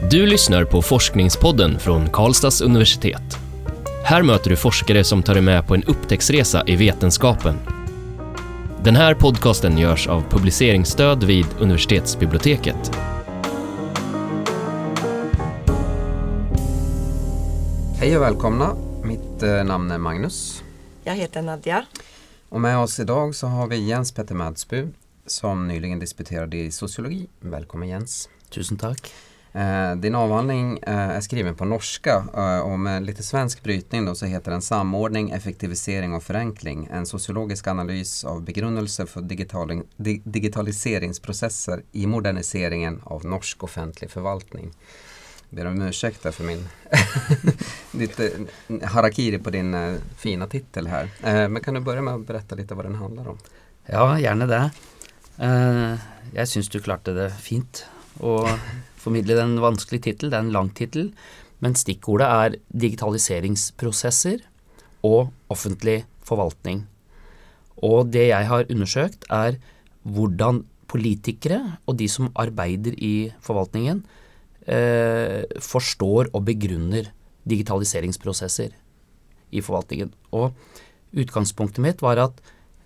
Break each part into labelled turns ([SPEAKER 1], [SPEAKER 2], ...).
[SPEAKER 1] Du lyssnar på Forskningspodden från Karlstads universitet. Här möter du forskare som tar dig med på en upptäcktsresa i vetenskapen. Den här podcasten görs av publiceringsstöd vid universitetsbiblioteket.
[SPEAKER 2] Hej och välkomna. Mitt namn är Magnus.
[SPEAKER 3] Jag heter Nadja.
[SPEAKER 2] Och med oss idag så har vi Jens Petter Madsby som nyligen disputerade i sociologi. Välkommen Jens.
[SPEAKER 4] Tusen tack.
[SPEAKER 2] Din avhandling är skriven på norska och med lite svensk brytning då så heter den Samordning, effektivisering och förenkling. En sociologisk analys av begrundelse för digitaliseringsprocesser i moderniseringen av norsk offentlig förvaltning. Jag ber om ursäkt för min lite harakiri på din fina titel här. Men kan du börja med att berätta lite vad den handlar om?
[SPEAKER 4] Ja, gärna det. Jeg synes du klarte det fint å formidle den vanskelige titel. Det er en lang titel, men stikkordet er digitaliseringsprosesser og offentlig forvaltning. Og det jeg har undersøkt er hvordan politikere og de som arbeider i forvaltningen forstår og begrunner digitaliseringsprosesser i forvaltningen. Og utgangspunktet mitt var at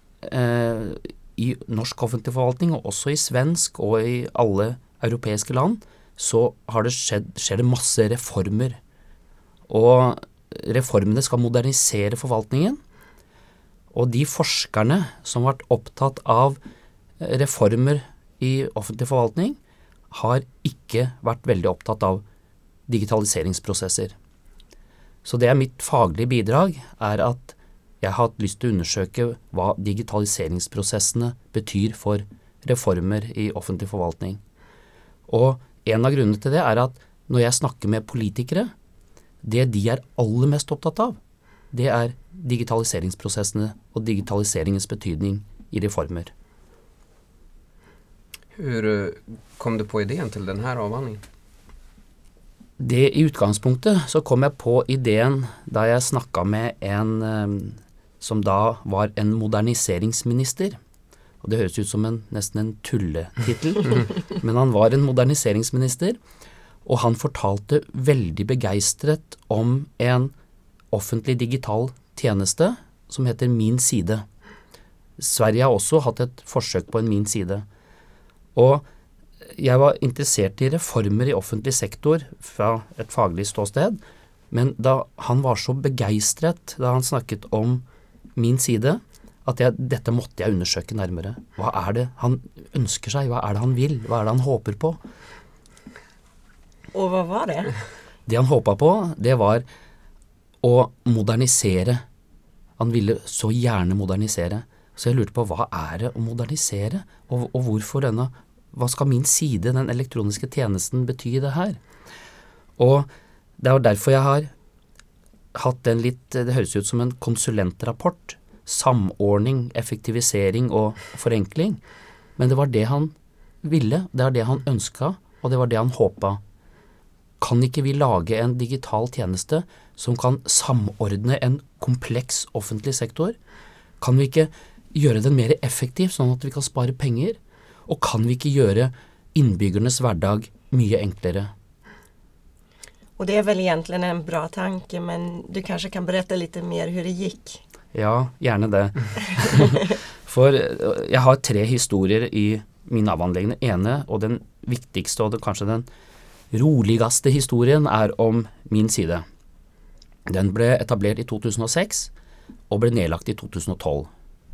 [SPEAKER 4] i norsk offentlig forvaltning, og også i svensk og i alle europeiske land, så har det skjer det masse reformer. Og reformene skal modernisere forvaltningen. Og de forskerne som har vært opptatt av reformer i offentlig forvaltning, har ikke vært veldig opptatt av digitaliseringsprosesser. Så det er mitt faglige bidrag, er at jeg har hatt lyst til å undersøke hva digitaliseringsprosessene betyr for reformer i offentlig forvaltning. Og en av grunnene til det er at når jeg snakker med politikere, det de er aller mest opptatt av, det er digitaliseringsprosessene og digitaliseringens betydning i reformer.
[SPEAKER 2] Hur kom du på idén till den här avhandlingen?
[SPEAKER 4] Det i utgangspunktet så kom jeg på ideen da jeg snakket med en som da var en moderniseringsminister. Og det høres ut som nesten en tulletitel, men han var en moderniseringsminister, og han fortalte veldig begeistret om en offentlig digital tjeneste som heter Min Side. Sverige har også hatt et forsøk på en Min Side. Og jeg var interessert i reformer i offentlig sektor fra et faglig ståsted, men da han var så begeistret da han snakket om Min Side, at dette måtte jeg undersøke nærmere. Hva er det han ønsker seg? Hva er det han vil? Hva er det han håper på?
[SPEAKER 3] Og hva var det?
[SPEAKER 4] Det han håpet på, det var å modernisere. Han ville så gjerne modernisere. Så jeg lurte på, hva er det å modernisere? Og hvorfor denne? Hva skal Min Side, den elektroniske tjenesten, bety i det her? Og det er derfor jeg har hatt en litt, det høres ut som en konsulentrapport, samordning, effektivisering og forenkling. Men det var det han ville, det var det han ønsket, og det var det han håpet. Kan ikke vi lage en digital tjeneste som kan samordne en kompleks offentlig sektor? Kan vi ikke gjøre den mer effektiv, sånn at vi kan spare penger? Og kan vi ikke gjøre innbyggernes hverdag mye enklere?
[SPEAKER 3] Och det är väl egentligen en bra tanke, men du kanske kan berätta lite mer hur det gick?
[SPEAKER 4] Ja, gjerne det. For jeg har 3 historier i min avhandling. Den ene og den viktigste og kanskje den roligste historien er om Min Side. Den ble etablert i 2006 og ble nedlagt i 2012.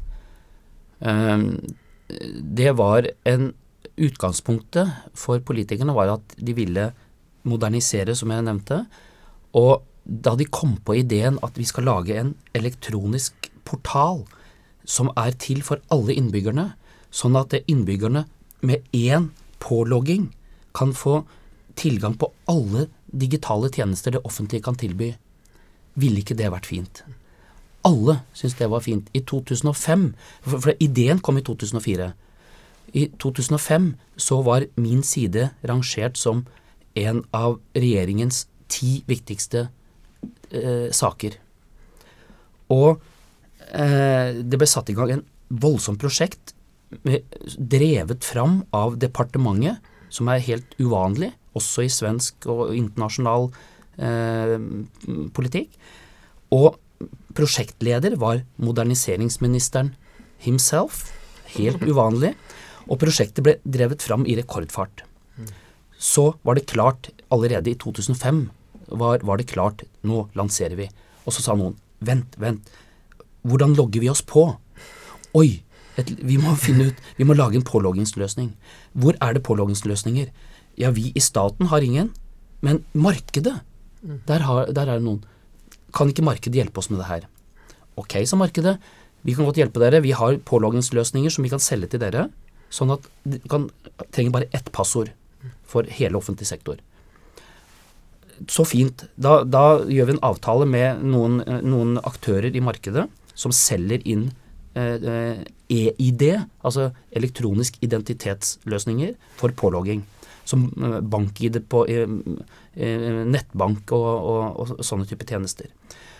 [SPEAKER 4] Det var utgangspunktet for politikerne var at de ville modernisere, som jeg nevnte, og da de kom på ideen at vi skal lage en elektronisk portal som er til for alle innbyggerne, sånn at innbyggerne med en pålogging kan få tilgang på alle digitale tjenester det offentlige kan tilby. Ville ikke det vært fint? Alle synes det var fint. I 2005, for ideen kom i 2004. I 2005 så var Min Side rangert som en av regjeringens 10 viktigste saker. Og det ble satt i gang en voldsom prosjekt drevet fram av departementet, som er helt uvanlig, også i svensk og internasjonal politikk. Og prosjektleder var moderniseringsministeren himself, helt uvanlig, og prosjektet ble drevet fram i rekordfart. Så var det klart, allerede i 2005 var det klart, nå lanserer vi. Og så sa noen, vent, hvordan logger vi oss på? Oi, vi må lage en påloggingsløsning. Hvor er det påloggingsløsninger? Ja, vi i staten har ingen, men markedet, der er det noen. Kan ikke markedet hjelpe oss med det her? Ok, sa markedet, vi kan godt hjelpe dere, vi har påloggingsløsninger som vi kan selge til dere, sånn at dere trenger bare ett passord for hele offentlig sektor. Så fint. Da gjør vi en avtale med noen aktører i markedet som selger inn EID, altså elektronisk identitetsløsninger for pålogging, som bank-ID på nettbank og sånne type tjenester.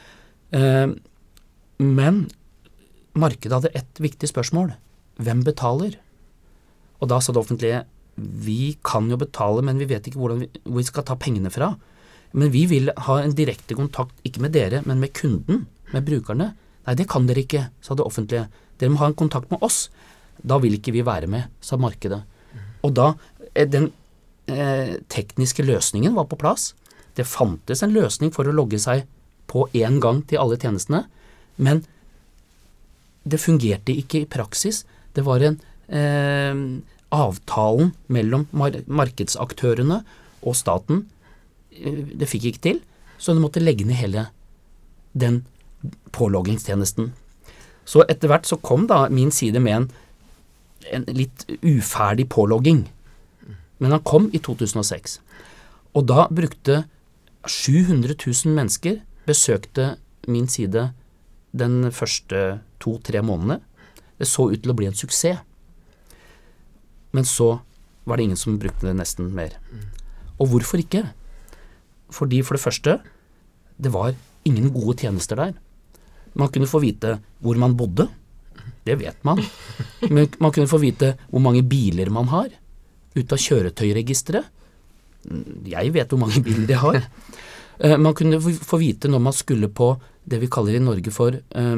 [SPEAKER 4] Men markedet hadde et viktig spørsmål. Hvem betaler? Og da sa det offentlige, vi kan jo betale, men vi vet ikke hvor vi skal ta pengene fra. Men vi vil ha en direkte kontakt, ikke med dere, men med kunden, med brukerne. Nei, det kan dere ikke, sa det offentlige. Dere må ha en kontakt med oss. Da vil ikke vi være med, sa markedet. Og da, den tekniske løsningen var på plass. Det fantes en løsning for å logge seg på en gang til alle tjenestene, men det fungerte ikke i praksis. Det var en avtalen mellom markedsaktørene og staten. Det fikk ikke til, så det måtte legge ned hele den påloggingstjenesten. Så etter hvert så kom da min side med en litt uferdig pålogging, men han kom i 2006. Og da brukte 700 000 mennesker besøkte min side den første 2-3 månedene. Det så ut til å bli en suksess. Men så var det ingen som brukte det nesten mer. Og hvorfor ikke? Fordi for det første, det var ingen gode tjenester der. Man kunne få vite hvor man bodde. Det vet man. Men man kunne få vite hvor mange biler man har ut av kjøretøyregisteret. Jeg vet hvor mange biler jeg har. Man kunne få vite når man skulle på det vi kaller i Norge for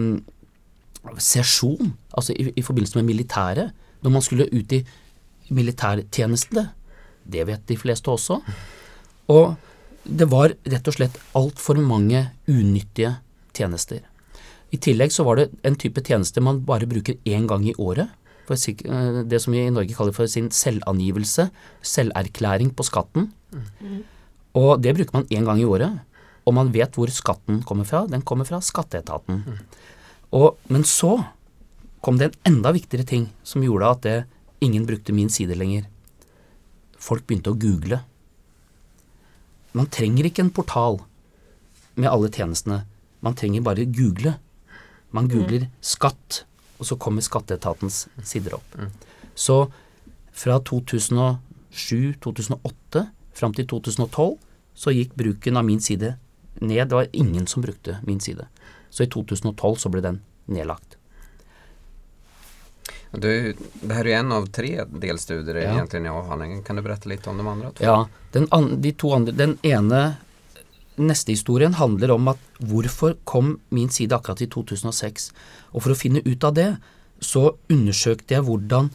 [SPEAKER 4] sesjon, altså i forbindelse med militæret, når man skulle ut i militærtjenestene. Det vet de fleste også. Og det var rett og slett alt for mange unyttige tjenester. I tillegg så var det en type tjeneste man bare bruker en gang i året, for det som vi i Norge kaller for sin selvangivelse, selverklæring på skatten. Og det bruker man en gang i året, og man vet hvor skatten kommer fra. Den kommer fra skatteetaten. Men så kom det en enda viktigere ting som gjorde at ingen brukte min side lenger. Folk begynte å google. Man trenger ikke en portal med alle tjenestene. Man trenger bare google. Man googler skatt, og så kommer skatteetatens sider opp. Så fra 2007-2008 fram til 2012 så gikk bruken av min side ned. Det var ingen som brukte min side. Så i 2012 så ble den nedlagt.
[SPEAKER 2] Det här är en av 3 delstudier egentligen i avhandlingen. Kan du berätta lite om de andra 2?
[SPEAKER 4] Ja, de 2 andre, den ene neste historien handler om at hvorfor kom min side akkurat i 2006. Og for å finne ut av det, så undersøkte jeg hvordan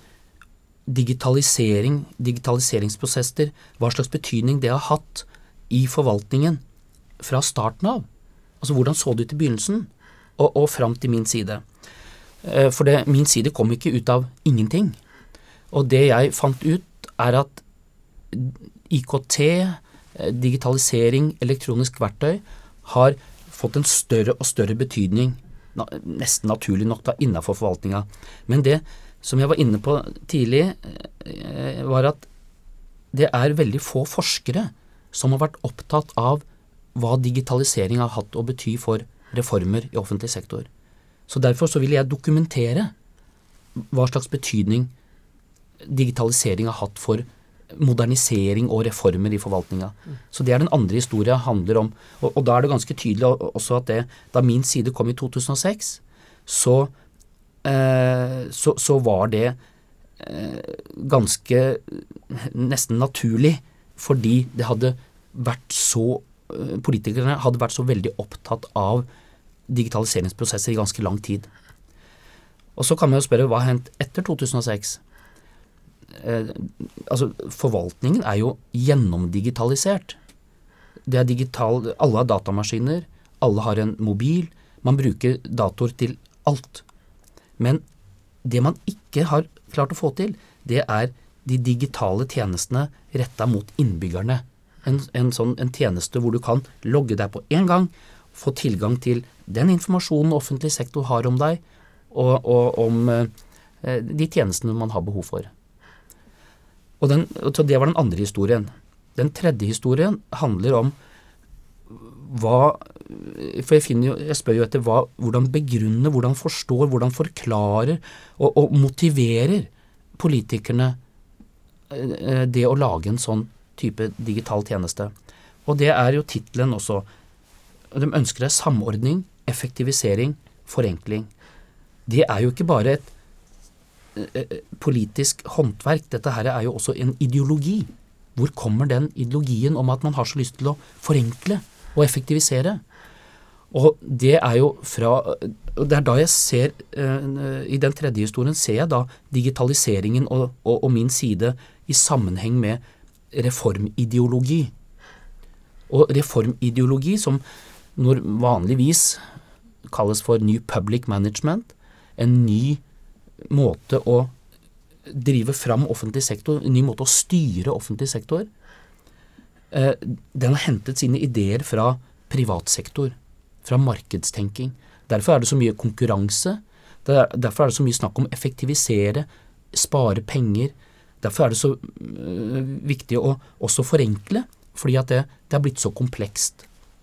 [SPEAKER 4] digitaliseringsprosesser, hva slags betydning det har hatt i forvaltningen fra starten av. Altså hvordan så det ut i begynnelsen, og frem til min side. For min side kom ikke ut av ingenting. Og det jeg fant ut at IKT, digitalisering, elektronisk verktøy, har fått en større og større betydning, nesten naturlig nok da, innenfor forvaltninga. Men det som jeg var inne på tidlig, var at det veldig få forskere som har vært opptatt av hva digitalisering har hatt å bety for reformer i offentlig sektor. Så derfor så vil jeg dokumentere hva slags betydning digitalisering har hatt for modernisering og reformer i forvaltninga. Så det den andre historien handler om. Og da det ganske tydelig også at da min side kom i 2006, så var det ganske nesten naturlig fordi det hadde vært så, politikerne hadde vært så veldig opptatt av digitaliseringsprosesser i ganske lang tid. Og så kan man jo spørre, hva har hendt etter 2006? Altså, forvaltningen er jo gjennomdigitalisert. Det er digital, alle har datamaskiner, alle har en mobil, man bruker datorer til alt. Men det man ikke har klart å få til, det er de digitale tjenestene rettet mot innbyggerne. En tjeneste hvor du kan logge deg på en gang, få tilgang til den informasjonen offentlig sektor har om deg, og om de tjenestene man har behov for. Så det var den andre historien. Den tredje historien handler om for jeg spør jo etter hvordan begrunner, hvordan forstår, hvordan forklarer og motiverer politikerne det å lage en sånn type digital tjeneste. Og det er jo titlen også. De ønsker samordning, effektivisering, forenkling. Det er jo ikke bare et politisk håndverk, dette her er jo også en ideologi. Hvor kommer den ideologien om at man har så lyst til å forenkle og effektivisere? Og det er jo det er da jeg ser, i den tredje historien ser jeg da digitaliseringen og min side i sammenheng med reformideologi. Og reformideologi som når vanligvis kalles for New Public Management, en ny måte å drive fram offentlig sektor, en ny måte å styre offentlig sektor, den har hentet sine ideer fra privatsektor, fra markedstenking. Derfor er det så mye konkurranse, derfor er det så mye snakk om effektivisere, spare penger, derfor er det så viktig å også forenkle, fordi at det har blitt så komplekst.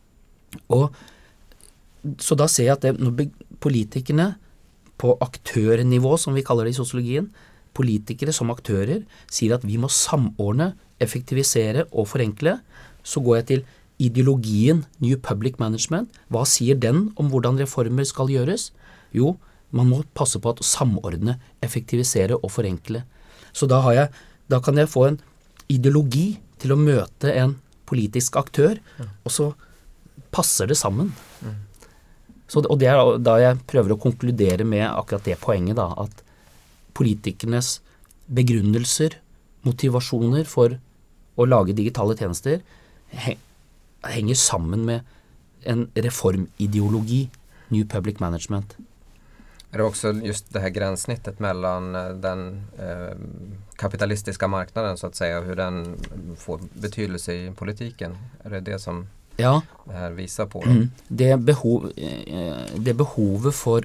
[SPEAKER 4] Så da ser jeg at når politikerne på aktørnivå, som vi kaller det i sosiologien, politikere som aktører sier at vi må samordne, effektivisere og forenkle, så går jeg til ideologien New Public Management. Hva sier den om hvordan reformer skal gjøres? Jo, man må passe på å samordne, effektivisere og forenkle. Så da kan jeg få en ideologi til å møte en politisk aktør, og så passer det sammen. Og det er da jeg prøver å konkludere med akkurat det poenget da, at politikernes begrunnelser, motivasjoner for å lage digitale tjenester henger sammen med en reformideologi, New Public Management.
[SPEAKER 2] Är det också just det här gränssnittet mellan den kapitalistiska marknaden så att säga, hur den får betydelse i politiken? Är det det som det här visar på?
[SPEAKER 4] Det behovet for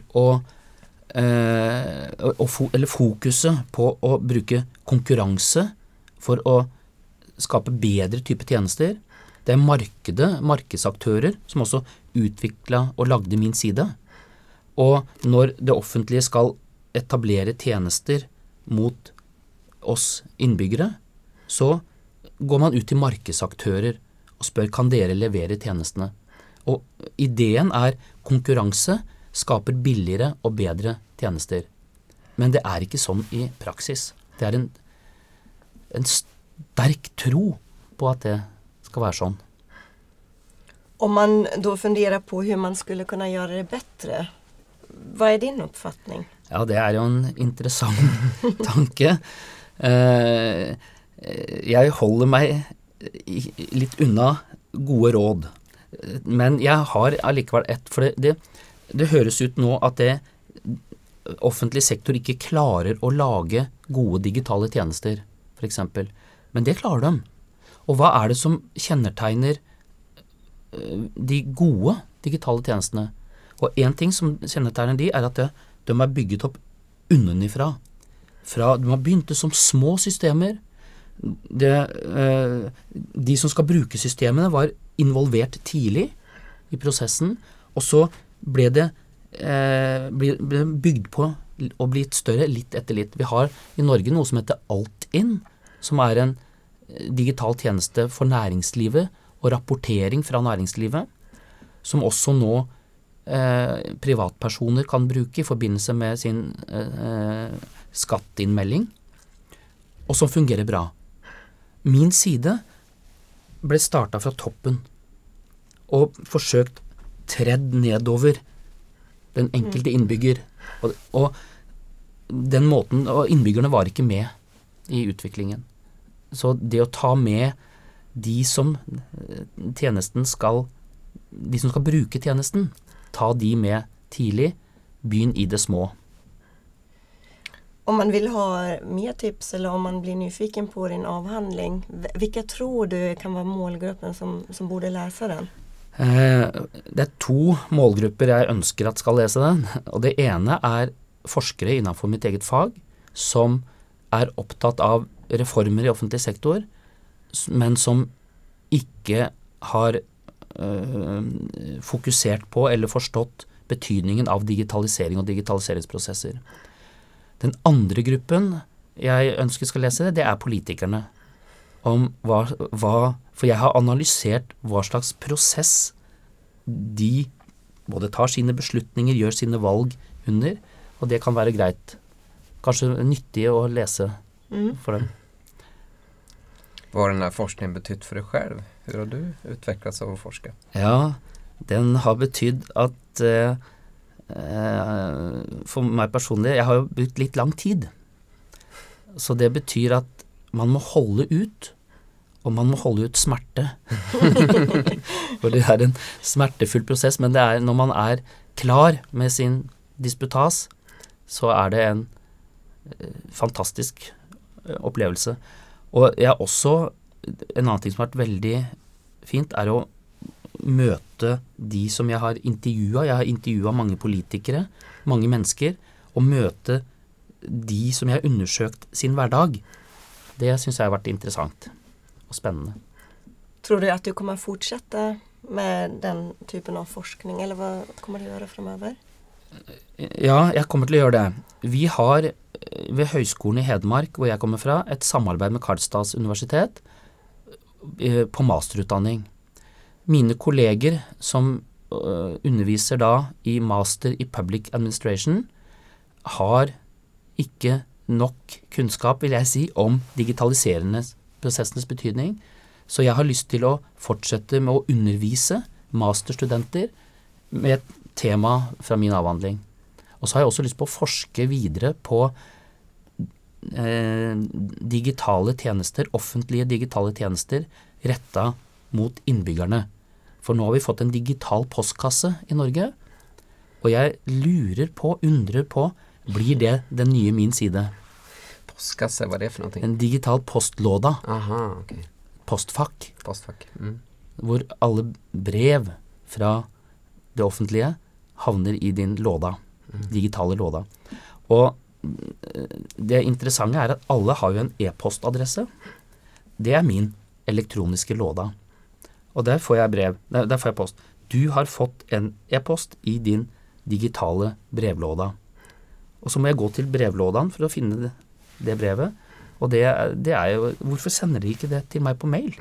[SPEAKER 4] eller fokuset på å bruke konkurranse for å skape bedre type tjenester. Det er markedsaktører som også utviklet og lagde min side. Og når det offentlige skal etablere tjenester mot oss innbyggere, så går man ut til markedsaktører og spør, kan dere levere tjenestene? Og ideen er konkurranse skaper billigere og bedre tjenester. Men det er ikke sånn i praksis. Det er en sterk tro på at det ska vara sån.
[SPEAKER 3] Om man då funderar på hur man skulle kunna göra det bättre, vad är din uppfattning?
[SPEAKER 4] Ja, det är ju en intressant tanke. Jeg holder meg litt unna gode råd. Men jeg har allikevel for det høres ut nå at offentlig sektor ikke klarer å lage gode digitale tjenester, for eksempel. Men det klarer de. Og hva er det som kjennetegner de gode digitale tjenestene? Og en ting som kjennetegner de at de er bygget opp unnenifra. De har begynt som små systemer. De som skal bruke systemene var involvert tidlig i prosessen, og så ble det bygd på og blitt større litt etter litt. Vi har i Norge noe som heter Altinn, som er en digital tjeneste for næringslivet og rapportering fra næringslivet, som også nå privatpersoner kan bruke i forbindelse med sin skatteinnmelding, og som fungerer bra. Min side ble startet fra toppen og forsøkt tredd nedover den enkelte innbygger. Og den måten, og innbyggerne var ikke med i utviklingen. Så det å ta med de som skal bruke tjenesten, ta de med tidlig, begynn i det små.
[SPEAKER 3] Om man vill ha mer tips eller om man blir nyfiken på din avhandling, vilka tror du kan vara målgruppen som borde läsa den?
[SPEAKER 4] Det er 2 målgrupper jeg ønsker at skal lese den, og det ene er forskere innenfor mitt eget fag, som er opptatt av reformer i offentlig sektor, men som ikke har fokusert på eller forstått betydningen av digitalisering og digitaliseringsprosesser. Den andre gruppen jeg ønsker skal lese det er politikerne. Om for jeg har analysert hva slags prosess de både tar sine beslutninger, gjør sine valg under, og det kan være greit. Kanskje nyttig å lese for dem.
[SPEAKER 2] Vad har den här forskningen betytt för dig själv? Hur har du utvecklats av att forska?
[SPEAKER 4] Ja, den har betydd at for meg personlig, jeg har jo brukt litt lang tid. Så det betyr at man må holde ut, og man må holde ut smerte. For det er en smertefull prosess, men det er når man er klar med sin disputas, så er det en fantastisk opplevelse. Og jeg har også, en annen ting som har vært veldig fint, er å møte de som jeg har intervjuet. Jeg har intervjuet mange politikere, mange mennesker, og møte de som jeg har undersøkt sin hverdag. Det synes jeg har vært interessant og spennende.
[SPEAKER 3] Tror du at du kommer fortsette med den typen av forskning, eller hva kommer du gjøre fremover?
[SPEAKER 4] Ja, jeg kommer til å gjøre det. Vi har ved Høgskolen i Hedmark, hvor jeg kommer fra, et samarbeid med Karlstads universitet på masterutdanning. Mine kolleger som underviser da i master i public administration har ikke nok kunnskap, vil jeg si, om digitaliserende prosessenes betydning. Så jeg har lyst til å fortsette med å undervise masterstudenter med et tema fra min avhandling. Og så har jeg også lyst på å forske videre på digitale tjenester, offentlige digitale tjenester, rettet mot innbyggerne. For nå har vi fått en digital postkasse i Norge, og jeg undrer på, blir det den nye min side?
[SPEAKER 2] Postkasse, hva er det for noe?
[SPEAKER 4] En digital postlåda.
[SPEAKER 2] Aha, ok.
[SPEAKER 4] Postfakk.
[SPEAKER 2] Postfakk.
[SPEAKER 4] Hvor alle brev fra det offentlige havner i din låda, digitale låda. Og det interessante er at alle har jo en e-postadresse. Det er min elektroniske låda. Og der får jeg brev, der får jeg post. Du har fått en e-post i din digitale brevlåda. Og så må jeg gå til brevlådan for å finne det brevet. Og det er jo, hvorfor sender de ikke det til meg på mail?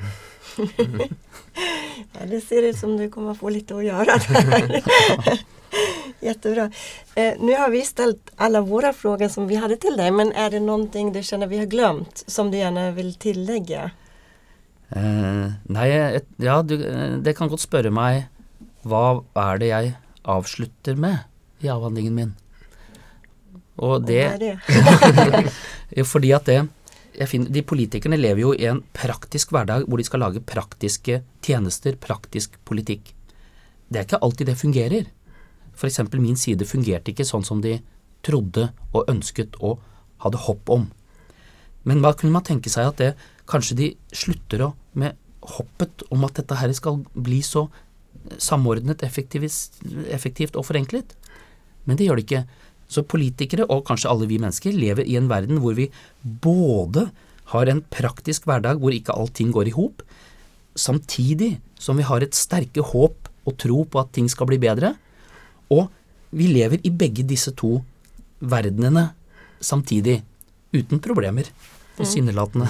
[SPEAKER 3] Ja, det ser ut som du kommer få lite att göra där. Jättebra. Nu har vi ställt alla våra frågor som vi hade till dig, men är det någonting du känner vi har glömt som du gärna vill tillägga?
[SPEAKER 4] Nei, ja, det kan godt spørre meg, hva er det jeg avslutter med i avhandlingen min? Og det,
[SPEAKER 3] hva er det?
[SPEAKER 4] Fordi at de politikerne lever jo i en praktisk hverdag hvor de skal lage praktiske tjenester, praktisk politikk. Det er ikke alltid det fungerer. For eksempel min side fungerte ikke sånn som de trodde og ønsket og hadde håp om. Men hva kunne man tenke seg at kanskje de slutter med hoppet om at dette her skal bli så samordnet, effektivt og forenklet? Men det gjør det ikke. Så politikere, og kanskje alle vi mennesker, lever i en verden hvor vi både har en praktisk hverdag hvor ikke allting går i hop, samtidig som vi har et sterke håp og tro på at ting skal bli bedre, og vi lever i begge disse 2 verdenene samtidig, uten problemer. Sinnelatende.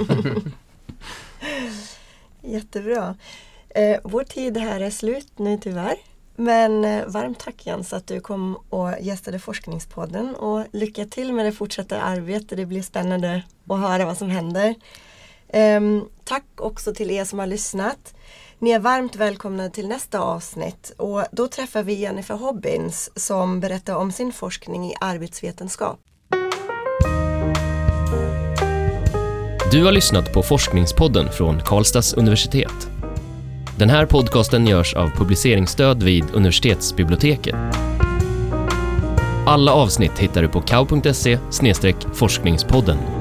[SPEAKER 3] Jättebra. Vår tid här är slut nu tyvärr. Men varmt tack Jens att du kom och gästade Forskningspodden, och lycka till med det fortsatta arbetet. Det blir spännande att höra vad som händer. Tack också till er som har lyssnat. Ni är varmt välkomna till nästa avsnitt och då träffar vi Jennifer Hobbins som berättar om sin forskning i arbetsvetenskap.
[SPEAKER 1] Du har lyssnat på Forskningspodden från Karlstads universitet. Den här podcasten görs av publiceringsstöd vid universitetsbiblioteket. Alla avsnitt hittar du på kau.se/forskningspodden.